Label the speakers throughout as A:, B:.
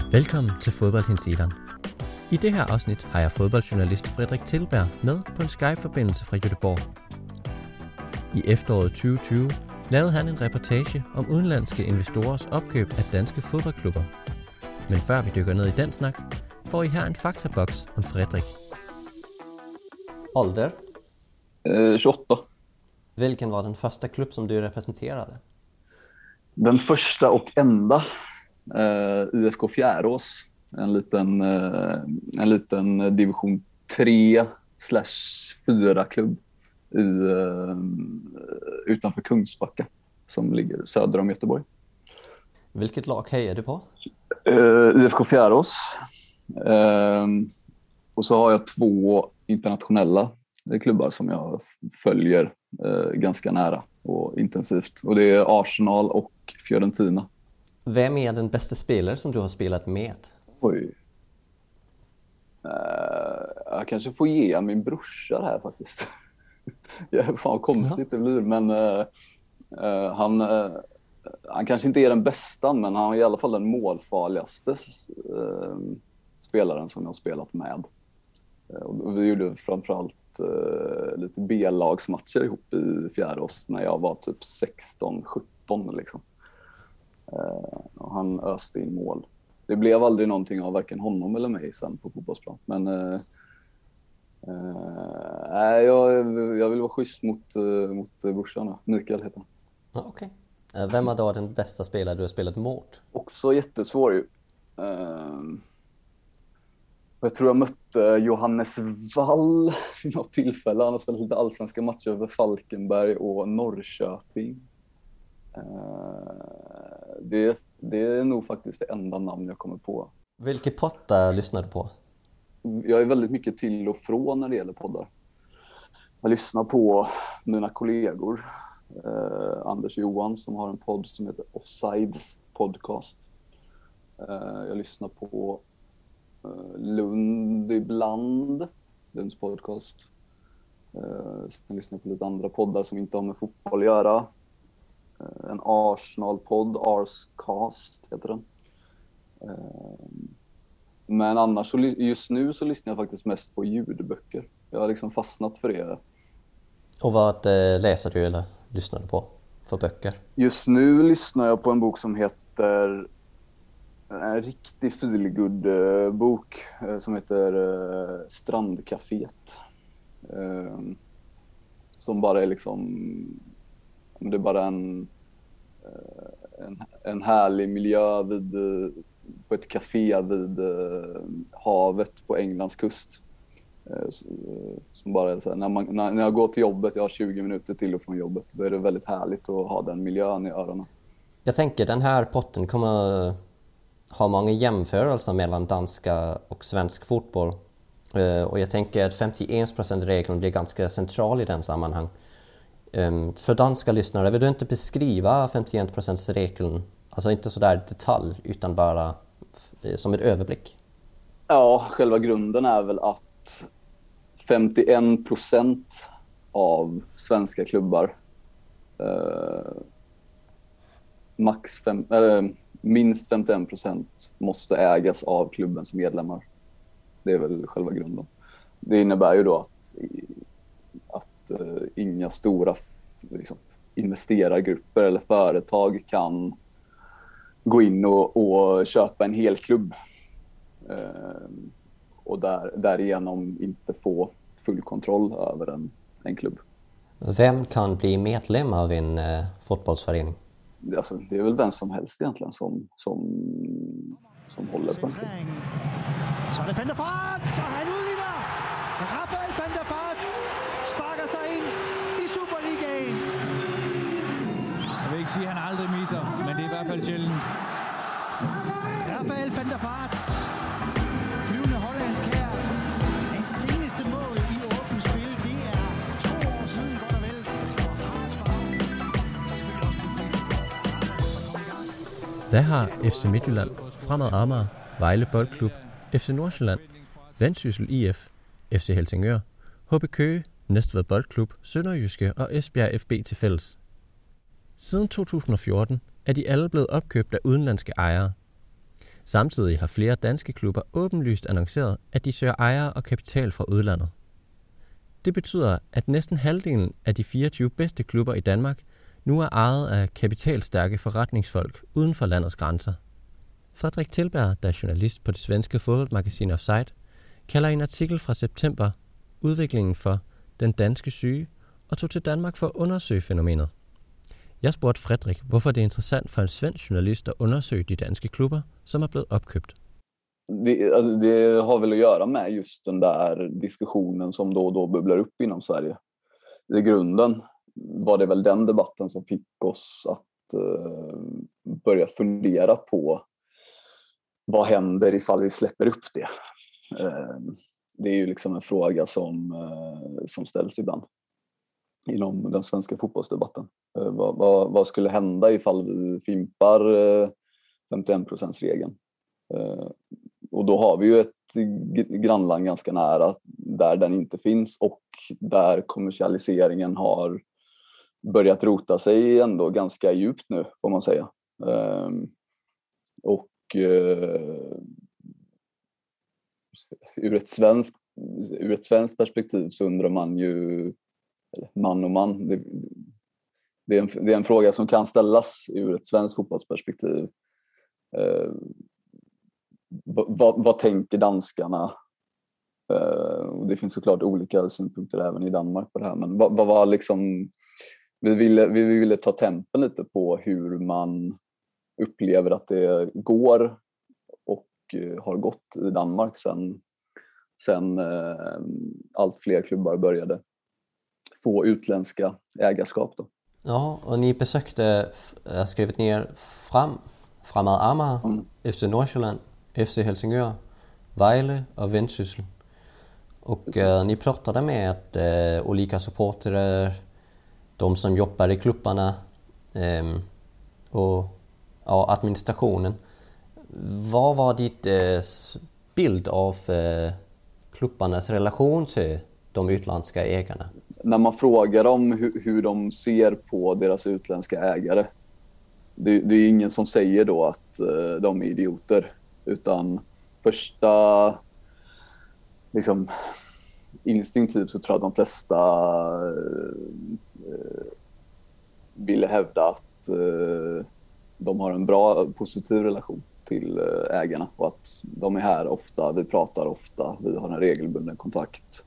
A: Velkommen til Fodboldhensideren. I det her afsnit har jeg fodboldjournalist Frederik Tilberg med på en Skype-forbindelse fra Göteborg. I efteråret 2020 lavede han en reportage om udenlandske investorers opkøb af danske fodboldklubber. Men før vi dykker ned i den snak, får I her en faktaboks om Frederik.
B: Ålder?
C: 28.
B: Vilken var den första klubb som du representerade?
C: Den första och enda IFK Fjärås, en liten division 3/4 klubb utanför Kungsbacka som ligger söder om Göteborg.
B: Vilket lag hejar du på?
C: IFK Fjärås. Och så har jag 2 internationella klubbar som jag följer ganska nära och intensivt. Och det är Arsenal och Fiorentina.
B: Vem är den bästa spelare som du har spelat med?
C: Oj. Jag kanske får ge min brorsa det här faktiskt. Fan konstigt det blir, men han kanske inte är den bästa, men han är i alla fall den målfarligaste spelaren som jag har spelat med. Och vi gjorde framförallt lite B-lagsmatcher ihop i Fjärås när jag var typ 16-17 liksom. Och han öste in mål. Det blev aldrig någonting av varken honom eller mig sen på fotbollsplan. Men jag vill vara schysst mot brorsan. Mikael heter han.
B: Okej. Vem var då den bästa spelare du har spelat mot?
C: Också jättesvår ju. Jag tror jag mötte Johannes Wall vid något tillfälle. Han har spelat lite allsvenska matcher över Falkenberg och Norrköping. Det är nog faktiskt det enda namn jag kommer på.
B: Vilka poddar lyssnar du på?
C: Jag är väldigt mycket till och från när det gäller poddar. Jag lyssnar på mina kollegor. Anders och Johan som har en podd som heter Offsides podcast. Jag lyssnar på Lund ibland, Lunds podcast. Jag lyssnar på lite andra poddar som inte har med fotboll att göra. En Arsenal-podd, Arscast heter den. Men annars, just nu så lyssnar jag faktiskt mest på ljudböcker. Jag har liksom fastnat för det. Och
B: vad läser du eller lyssnar du på för böcker?
C: Just nu lyssnar jag på en bok som heter... En riktig feelgood-bok som heter Strandcaféet. Som bara är liksom... Det är bara en härlig miljö på ett café vid havet på Englands kust. Som bara är så här, när jag går till jobbet, jag har 20 minuter till och från jobbet, då är det väldigt härligt att ha den miljön i öronen. Jag
B: tänker den här potten kommer ha många jämförelser mellan danska och svensk fotboll. Och jag tänker att 51%-regeln blir ganska central i den sammanhang. För danska lyssnare, vill du inte beskriva 51%-regeln? Alltså inte sådär detalj, utan bara som en överblick.
C: Ja, själva grunden är väl att 51% av svenska klubbar minst 51% måste ägas av klubbens medlemmar. Det är väl själva grunden. Det innebär ju då att inga stora liksom, investerargrupper eller företag kan gå in och köpa en hel klubb och därigenom inte få full kontroll över en klubb.
B: Vem kan bli medlem av en fotbollsförening?
C: Alltså, det är väl vem som helst egentligen som håller på en klubb.
D: Så är det Van der Vaart, och han udligner. Rafael Van der Vaart sparker sig ind i Superligaen.
E: Jeg vil ikke sige, at han aldrig misser, men det er i hvert fald sjældent.
D: Rafael Van der Vaart, flyvende hollandsk her. Hans seneste mål i åbent spil, det er 2 år siden, godt og vel.
A: Hvad har FC Midtjylland, Fremad Amager, Vejle Boldklub, FC Nordsjælland, Vendsyssel IF, FC Helsingør, HB Køge, Næstved Boldklub, Sønderjyske og Esbjerg FB til fælles? Siden 2014 er de alle blevet opkøbt af udenlandske ejere. Samtidig har flere danske klubber åbenlyst annonceret, at de søger ejere og kapital fra udlandet. Det betyder, at næsten halvdelen af de 24 bedste klubber i Danmark nu er ejet af kapitalstærke forretningsfolk uden for landets grænser. Frederik Tilberg, der er journalist på det svenske fodboldmagasin Offside, kalder i en artikel fra september udviklingen for den danske syge og tog til Danmark for at undersøge fænomenet. Jeg spurgte Frederik, hvorfor det er interessant for en svensk journalist at undersøge de danske klubber, som er blevet opkøbt.
C: Det har väl att göra med just den där diskussionen som då och då bubblar upp inom Sverige. I grunden var det väl den debatten som fick oss att börja fundera på vad händer ifall vi släpper upp det. Det är ju liksom en fråga som ställs ibland inom den svenska fotbollsdebatten. Vad skulle hända ifall vi fimpar 51%-regeln? Och då har vi ju ett grannland ganska nära där den inte finns och där kommersialiseringen har börjat rota sig ändå ganska djupt nu, får man säga. Och ur ett svenskt perspektiv så undrar man ju, man och man, det är en fråga som kan ställas ur ett svenskt fotbollsperspektiv. Vad tänker danskarna? Det finns såklart olika synpunkter även i Danmark på det här, men vad var liksom, vi ville ta tempen lite på hur man upplever att det går och har gått i Danmark sen allt fler klubbar började få utländska ägarskap då.
B: Ja, och ni besökte, jag har skrivit ner Fremad Amager, FC Nordsjælland, FC Helsingør, Vejle och Vendsyssel. Och ni pratade med olika supportare, de som jobbar i klubbarna och administrationen. Vad var ditt bild av klubbarnas relation till de utländska ägarna?
C: När man frågar dem hur de ser på deras utländska ägare, det är ingen som säger då att de är idioter, utan första liksom instinktivt så tror jag att de flesta ville hävda att de har en bra, positiv relation till ägarna och att de är här ofta, vi pratar ofta, vi har en regelbunden kontakt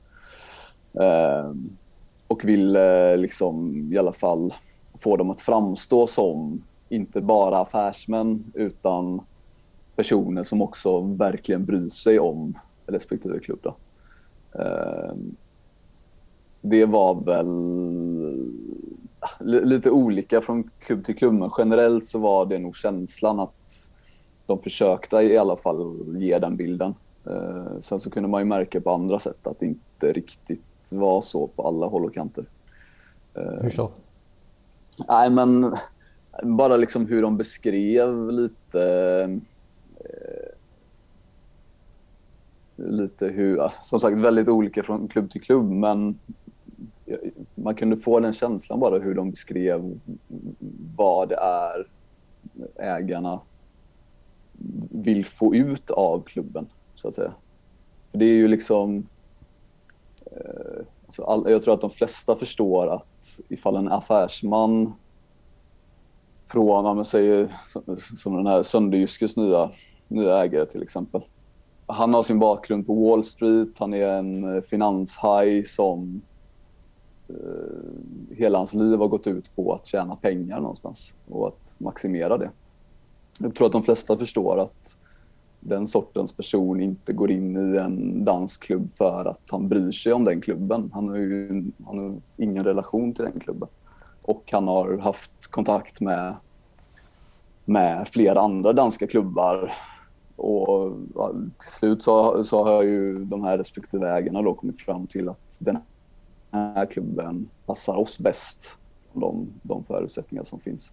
C: och vill liksom i alla fall få dem att framstå som inte bara affärsmän utan personer som också verkligen bryr sig om respektive klubb då. Det var väl lite olika från klubb till klubb, men generellt så var det nog känslan att de försökte i alla fall ge den bilden. Sen så kunde man ju märka på andra sätt att det inte riktigt var så på alla håll och kanter.
B: Hur så?
C: Nej, men bara liksom hur de beskrev lite hur, som sagt väldigt olika från klubb till klubb, men man kunde få den känslan bara hur de beskrev vad det är ägarna vill få ut av klubben, så att säga. För det är ju liksom jag tror att de flesta förstår att ifall en affärsman från, om man säger som den här Sönderjyskes nya ägare till exempel. Han har sin bakgrund på Wall Street, han är en finanshaj som hela hans liv har gått ut på att tjäna pengar någonstans och att maximera det. Jag tror att de flesta förstår att den sortens person inte går in i en dansklubb för att han bryr sig om den klubben. Han har ingen relation till den klubben. Och han har haft kontakt med flera andra danska klubbar. Och till slut så har ju de här respektive ägarna då kommit fram till att den här klubben passar oss bäst, de förutsättningar som finns.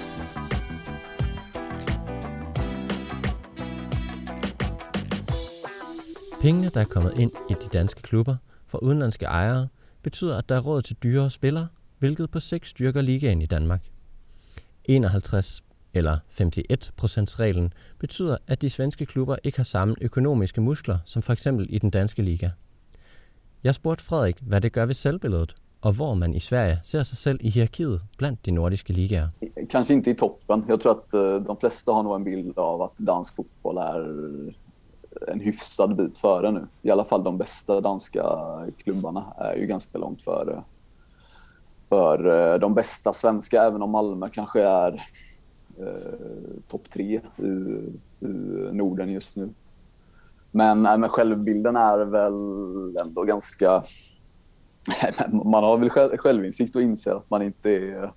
A: Pengene, der er kommet ind i de danske klubber fra udenlandske ejere, betyder, at der er råd til dyrere spillere, hvilket på sigt styrker ligaen i Danmark. 51 eller 51%-reglen, betyder, at de svenske klubber ikke har samme økonomiske muskler som for eksempel i den danske liga. Jeg spurgte Frederik, hvad det gør ved selvbilledet, og hvor man i Sverige ser sig selv i hierarkiet blandt de nordiske ligaer.
C: Kanske inte i toppen. Jag tror att de flesta har nog en bild av att dansk fotboll är en hyfsad bit före nu. I alla fall de bästa danska klubbarna är ju ganska långt före för de bästa svenska, även om Malmö kanske är topp 3 i Norden just nu. Men självbilden är väl ändå ganska... Man har väl självinsikt och inser att man inte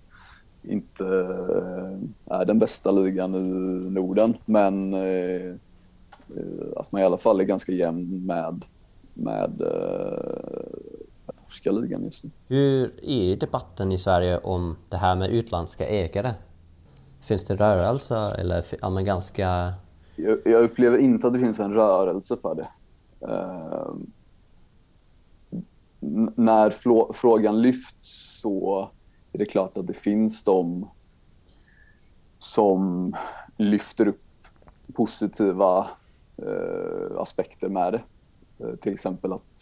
C: är den bästa ligan i Norden, men att man i alla fall är ganska jämn med norska ligan just nu.
B: Hur är debatten i Sverige om det här med utländska ägare? Finns det rörelse eller är man ganska...
C: Jag upplever inte att det finns en rörelse för det. När frågan lyfts så är det klart att det finns de som lyfter upp positiva aspekter med det. Till exempel att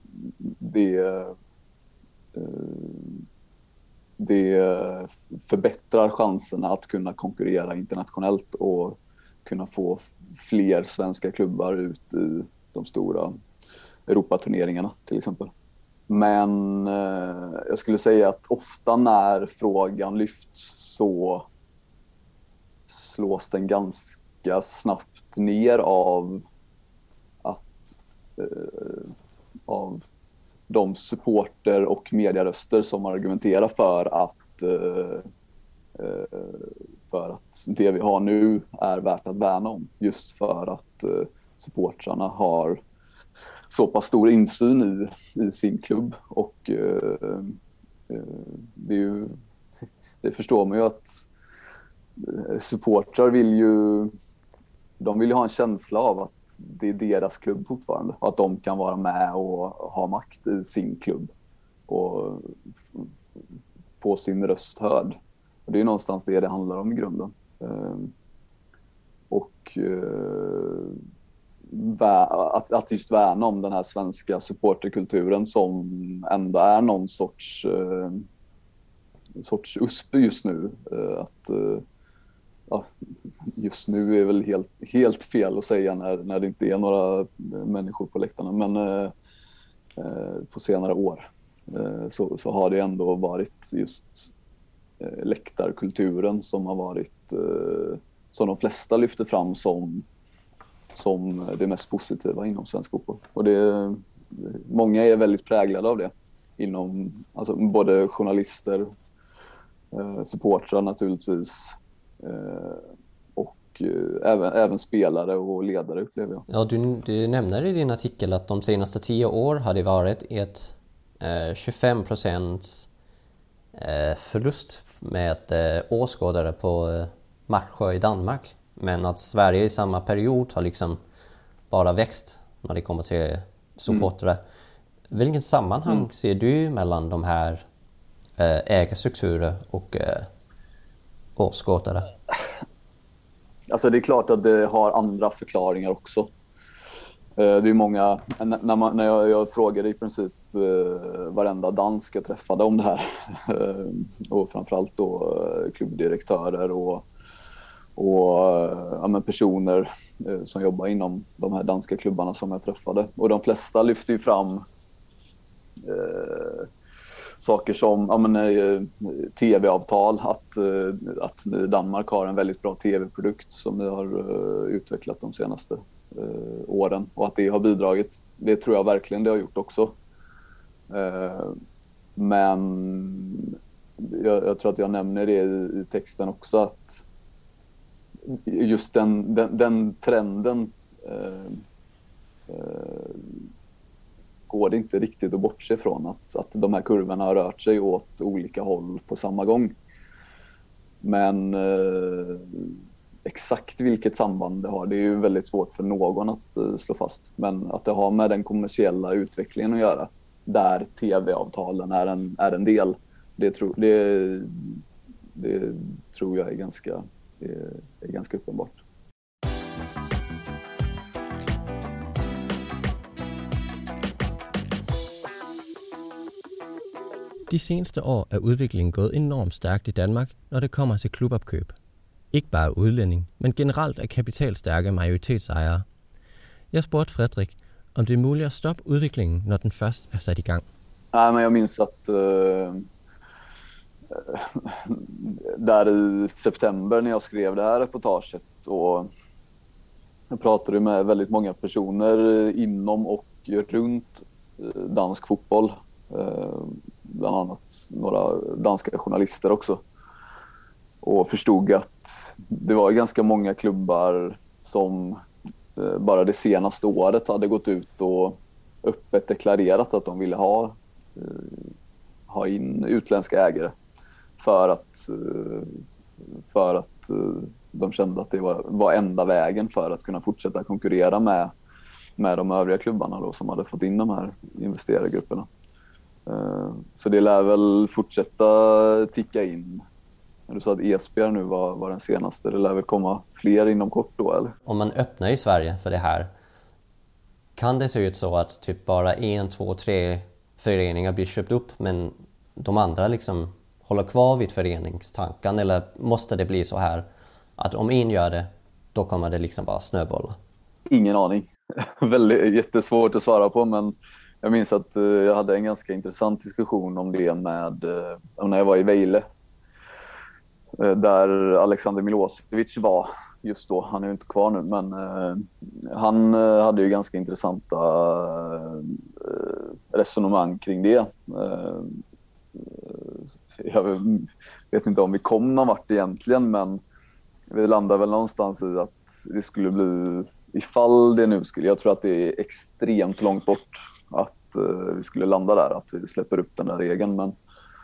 C: det förbättrar chanserna att kunna konkurrera internationellt och kunna få fler svenska klubbar ut i de stora Europaturneringarna till exempel. Men jag skulle säga att ofta när frågan lyfts så slås den ganska snabbt ner av de supporter och medieröster som argumenterar för att det vi har nu är värt att värna om, just för att supportrarna har så pass stor insyn i sin klubb, och det förstår man ju att supportrar vill ju ha en känsla av att det är deras klubb fortfarande, och att de kan vara med och ha makt i sin klubb och få sin röst hörd. Och det är någonstans det handlar om i grunden. Att just värna om den här svenska supporterkulturen som ändå är någon sorts USP just nu. Just nu är väl helt fel att säga när det inte är några människor på läktarna, men på senare år så har det ändå varit just läktarkulturen som har varit som de flesta lyfter fram som det mest positiva inom svensk fotboll. Och många är väldigt präglade av det inom, alltså både journalister, supportrar naturligtvis, och även spelare och ledare, upplever jag.
B: Ja, du nämner i din artikel att de senaste 10 år har det varit ett 25% förlust med åskådare på matcher i Danmark. Men att Sverige i samma period har liksom bara växt när det kommer till supportare. Vilken sammanhang ser du mellan de här ägarstrukturer och åskådare?
C: Alltså det är klart att det har andra förklaringar också. Det är många, när jag frågade i princip varenda dansk jag träffade om det här, och framförallt då klubbdirektörer och personer som jobbar inom de här danska klubbarna som jag träffade. Och de flesta lyfter ju fram saker som tv-avtal, att ni i Danmark har en väldigt bra tv-produkt som ni har utvecklat de senaste åren, och att det har bidragit. Det tror jag verkligen det har gjort också. Men jag tror att jag nämner det i texten också, att just den trenden går det inte riktigt att bortse från, att de här kurvorna har rört sig åt olika håll på samma gång. Men exakt vilket samband det har, det är ju väldigt svårt för någon att slå fast. Men att det har med den kommersiella utvecklingen att göra, där tv-avtalen är en del, det tror jag är Det är ganska uppenbart.
A: De seneste år er udviklingen gået enormt stærkt i Danmark, når det kommer til klubopkøb. Ikke bare udlænding, men generelt af kapitalstærke majoritetsejere. Jeg spurgte Fredrik, om det er muligt at stoppe udviklingen, når den først er sat i gang.
C: Nej, men jag minns att där i september när jag skrev det här reportaget och jag pratade med väldigt många personer inom och runt dansk fotboll. Bland annat några danska journalister också. Och förstod att det var ganska många klubbar som bara det senaste året hade gått ut och öppet deklarerat att de ville ha in utländska ägare för att de kände att det var enda vägen för att kunna fortsätta konkurrera med de övriga klubbarna då, som hade fått in de här investerargrupperna. Så det lär väl fortsätta ticka in. Du sa att Esbjerg nu var den senaste. Det lär väl komma fler inom kort då, eller?
B: Om man öppnar i Sverige för det här, kan det se ut så att typ bara 1, 2, 3 föreningar blir köpt upp, men de andra liksom håller kvar vid föreningstanken? Eller måste det bli så här att om en gör det, då kommer det liksom bara snöbolla?
C: Ingen aning. Väldigt jättesvårt att svara på, men jag minns att jag hade en ganska intressant diskussion om det med när jag var i Vejle. Där Alexander Milosevic var just då. Han är ju inte kvar nu, men han hade ju ganska intressanta resonemang kring det. Jag vet inte om vi kom någon vart egentligen, men vi landar väl någonstans i att det skulle bli, ifall det nu skulle, jag tror att det är extremt långt bort att vi skulle landa där, att vi släpper upp den där regeln, men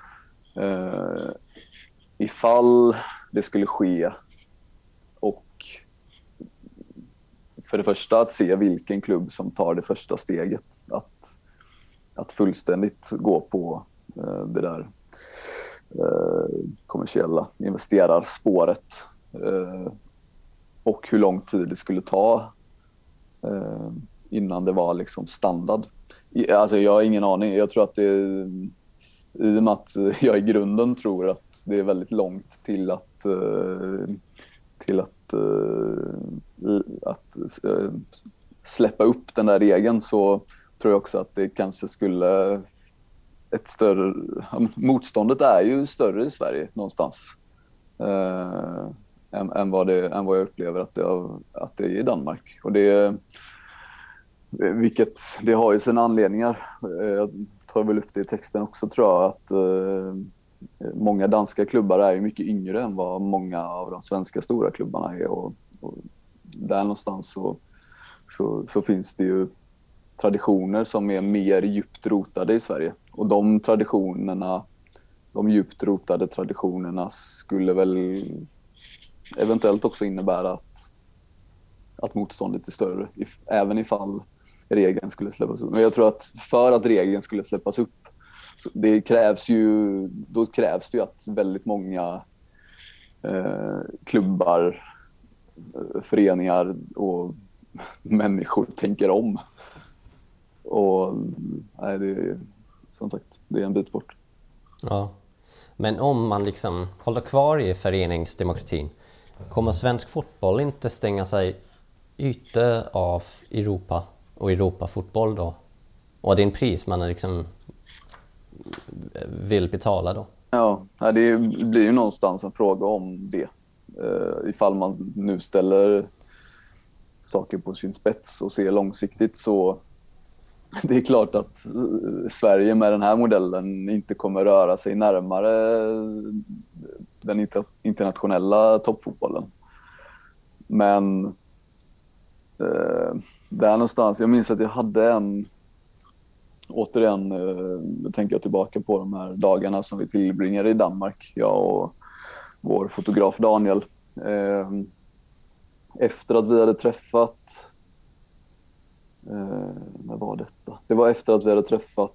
C: ifall det skulle ske, och för det första att se vilken klubb som tar det första steget att fullständigt gå på det där kommersiella investerarspåret, och hur lång tid det skulle ta innan det var liksom standard. Alltså jag har ingen aning. Jag tror att det är, i och med att jag i grunden tror att det är väldigt långt till att släppa upp den där regeln, så tror jag också att det kanske skulle motståndet är ju större i Sverige någonstans än vad jag upplever att det är i Danmark, och vilket det har ju sina anledningar. Jag tar väl upp det i texten också, tror jag, att många danska klubbar är ju mycket yngre än vad många av de svenska stora klubbarna är, och där någonstans så finns det ju traditioner som är mer djupt rotade i Sverige, och de djupt rotade traditionerna skulle väl eventuellt också innebära att motståndet är större, även ifall regeln skulle släppas upp. Men jag tror att för att regeln skulle släppas upp, då krävs det ju att väldigt många klubbar, föreningar och människor tänker om. Och nej, det är som sagt, det är en bit bort.
B: Ja, men om man liksom håller kvar i föreningsdemokratin, kommer svensk fotboll inte stänga sig ute av Europa och Europafotboll då? Och det är en pris man liksom vill betala då?
C: Ja, det blir ju någonstans en fråga om det. Ifall man nu ställer saker på sin spets och ser långsiktigt, så det är klart att Sverige med den här modellen inte kommer röra sig närmare den internationella toppfotbollen. Men där någonstans, jag minns att jag hade återigen tänker jag tillbaka på de här dagarna som vi tillbringade i Danmark, jag och vår fotograf Daniel. Efter att vi hade träffat, när var detta? Det var efter att vi hade träffat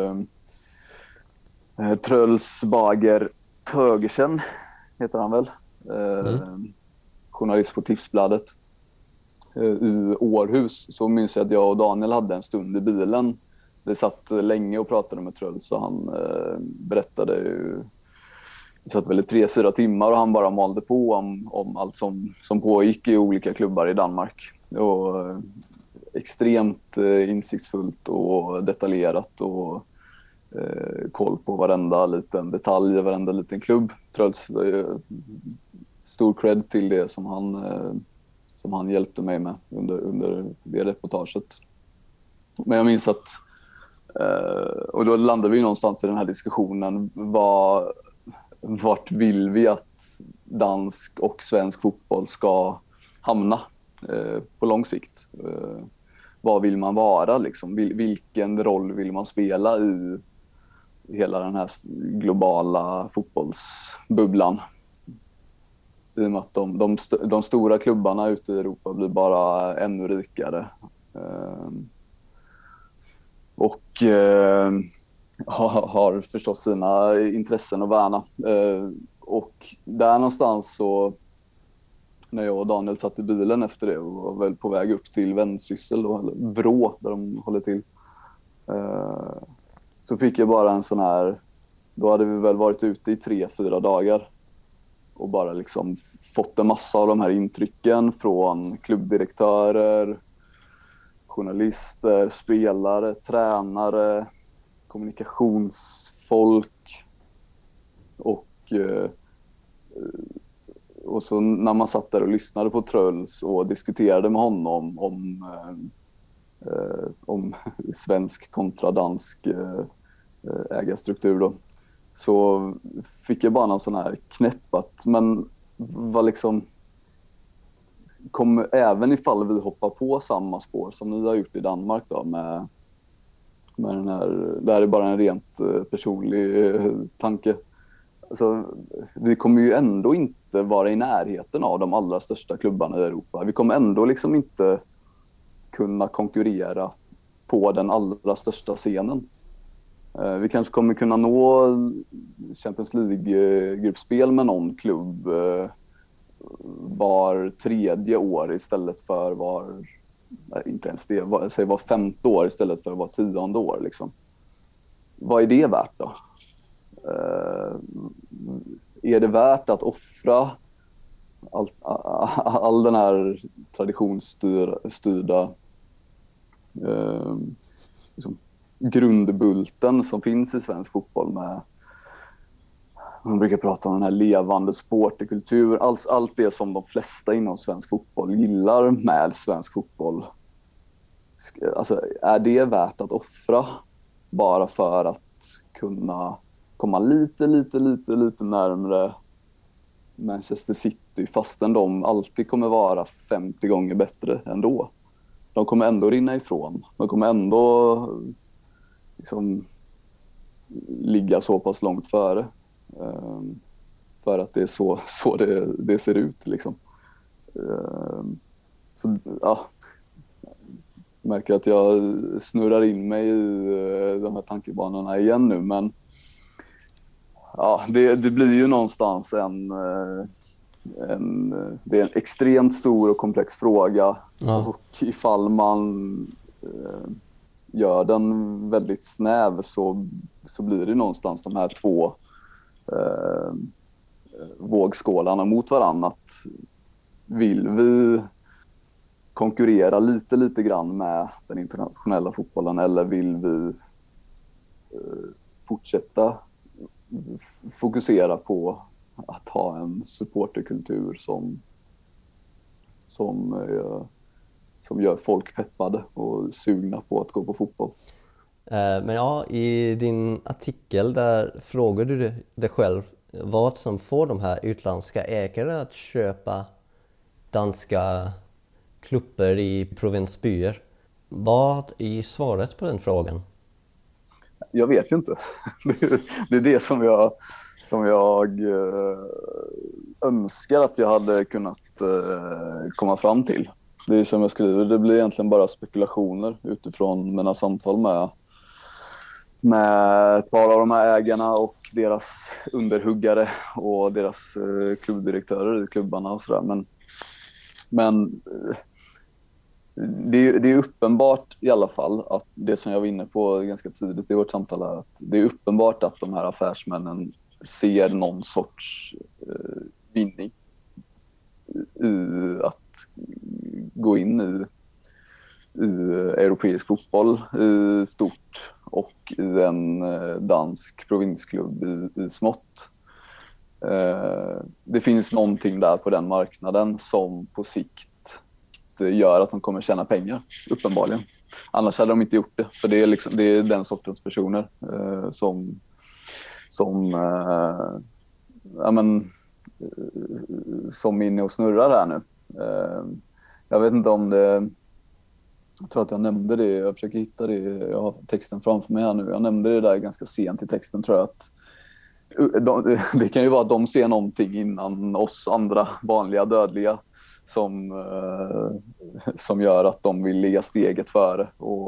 C: Truls Bager Tögersen, heter han väl, journalist på Tipsbladet i Århus, så minns jag att jag och Daniel hade en stund i bilen. Vi satt länge och pratade med Truls, så han berättade ju, vi satt väl i 3-4 timmar och han bara malde på om allt som pågick i olika klubbar i Danmark. Och extremt insiktsfullt och detaljerat och koll på varenda liten detalj i varenda liten klubb. Truls, stor cred till det som han hjälpte mig med under det reportaget. Men jag minns att och då landade vi någonstans i den här diskussionen, vart vill vi att dansk och svensk fotboll ska hamna på lång sikt? Vad vill man vara liksom? Vilken roll vill man spela i hela den här globala fotbollsbubblan? I och med att de stora klubbarna ute i Europa blir bara ännu rikare. Och har förstås sina intressen att värna. Och där någonstans så, när jag och Daniel satt i bilen efter det och var väl på väg upp till Vendsyssel då, eller Vrå där de håller till, så fick jag bara en sån här, då hade vi väl varit ute i 3-4 dagar och bara liksom fått en massa av de här intrycken från klubbdirektörer, journalister, spelare, tränare, kommunikationsfolk och så när man satt där och lyssnade på Truls och diskuterade med honom om svensk kontra dansk ägarstruktur då, så fick jag bara någon sån här knäpp att, men vad liksom, även ifall vi hoppar på samma spår som ni har gjort i Danmark då, med den här, det här är bara en rent personlig tanke. Alltså, vi kommer ju ändå inte vara i närheten av de allra största klubbarna i Europa. Vi kommer ändå liksom inte kunna konkurrera på den allra största scenen. Vi kanske kommer kunna nå Champions League-gruppspel med någon klubb var 3:e år istället för inte ens det, säg var 5:e år istället för var 10:e år liksom. Vad är det värt då? Är det värt att offra all den här traditionsstyrda liksom grundbulten som finns i svensk fotboll, med man brukar prata om den här levande supporterkultur, allt det som de flesta inom svensk fotboll gillar med svensk fotboll. Alltså, är det värt att offra bara för att kunna komma lite närmare Manchester City, fastän de alltid kommer vara 50 gånger bättre ändå? De kommer ändå rinna ifrån. De kommer ändå liksom ligga så pass långt före. För att det är så det ser ut liksom. Så ja, jag märker att jag snurrar in mig i de här tankebanorna igen nu, men ja, det blir ju någonstans det är en extremt stor och komplex fråga. Ja. Och ifall man gör den väldigt snäv så blir det någonstans de här två vågskålarna mot varandra. Att vill vi konkurrera lite grann med den internationella fotbollen, eller vill vi fortsätta fokusera på att ha en supporterkultur som gör folk peppade och sugna på att gå på fotboll.
B: Men ja, i din artikel där frågar du dig själv vad som får de här utländska ägare att köpa danska klubbar i provinsbyer. Vad är svaret på den frågan?
C: Jag vet ju inte. Det är det som jag önskar att jag hade kunnat komma fram till. Det är som jag skriver, det blir egentligen bara spekulationer utifrån mina samtal med ett par av de här ägarna och deras underhuggare och deras klubbdirektörer i klubbarna och sådär. Men det är uppenbart i alla fall att det som jag var inne på ganska tidigt i vårt samtal är att det är uppenbart att de här affärsmännen ser någon sorts vinning i att gå in i europeisk fotboll i stort och i en dansk provinsklubb i smått. Det finns någonting där på den marknaden som på sikt gör att de kommer tjäna pengar, uppenbarligen. Annars hade de inte gjort det, för det är den sortens personer som är inne och snurrar här nu. Jag vet inte om det... Jag tror att jag nämnde det, jag försöker hitta det, jag har texten framför mig här nu. Jag nämnde det där ganska sent i texten, tror jag, att det kan ju vara att de ser någonting innan oss andra vanliga dödliga som gör att de vill ligga steget före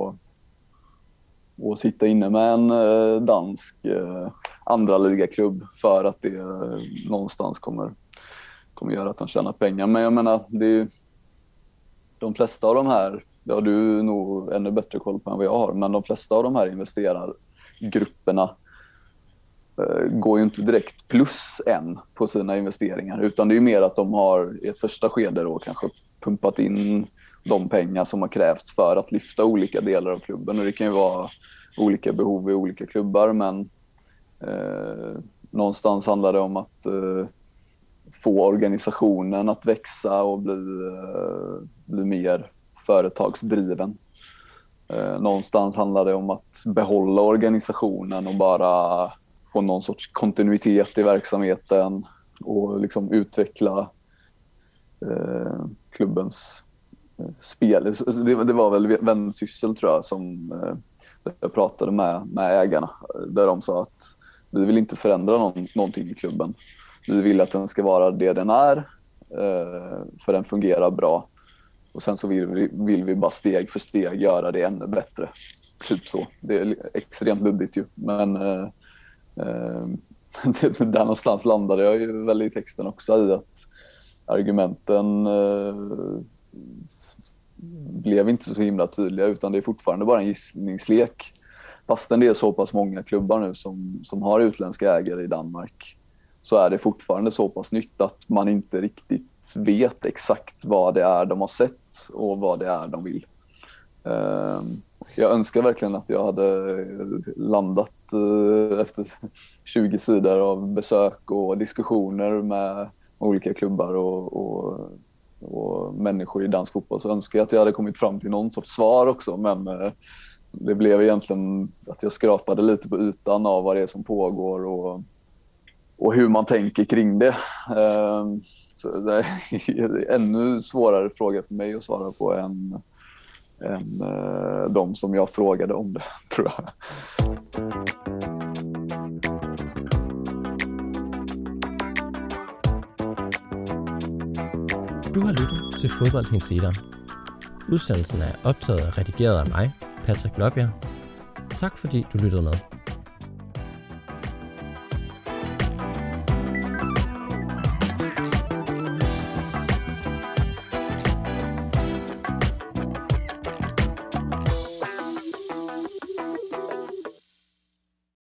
C: och sitta inne med en dansk andra ligaklubb för att det någonstans kommer göra att de tjänar pengar. Men jag menar, det är ju de flesta av de här, det har du nog ännu bättre koll på än vad jag har, men de flesta av de här investerargrupperna går ju inte direkt plus än på sina investeringar, utan det är ju mer att de har i ett första skede då kanske pumpat in de pengar som har krävts för att lyfta olika delar av klubben. Och det kan ju vara olika behov i olika klubbar, men någonstans handlar det om att få organisationen att växa och bli mer företagsdriven. Någonstans handlar det om att behålla organisationen och bara få någon sorts kontinuitet i verksamheten och liksom utveckla klubbens spel. Det var väl Vänsyssel, tror jag, som jag pratade med ägarna, där de sa att vi vill inte förändra någonting i klubben. Vi vill att den ska vara det den är, för den fungerar bra. Och sen så vill vi bara steg för steg göra det ännu bättre. Typ så. Det är extremt luddigt ju. Men där någonstans landade jag ju väl i texten också i att argumenten blev inte så himla tydliga, utan det är fortfarande bara en gissningslek. Fastän det är så pass många klubbar nu som har utländska ägare i Danmark, så är det fortfarande så pass nytt att man inte riktigt vet exakt vad det är de har sett och vad det är de vill. Jag önskar verkligen att jag hade landat efter 20 sidor av besök och diskussioner med olika klubbar och människor i dansk fotboll, så önskar jag att jag hade kommit fram till någon sorts svar också, men det blev egentligen att jag skrapade lite på ytan av vad det är som pågår och hur man tänker kring det. Så det är en ännu svårare fråga för mig att svara på än de som jag frågade om det, tror jag.
A: Du har lyttet til Fodboldhinsideren. Udsendelsen er optaget og redigeret af mig, Patrick Blåbjerg. Tak fordi du lyttede med.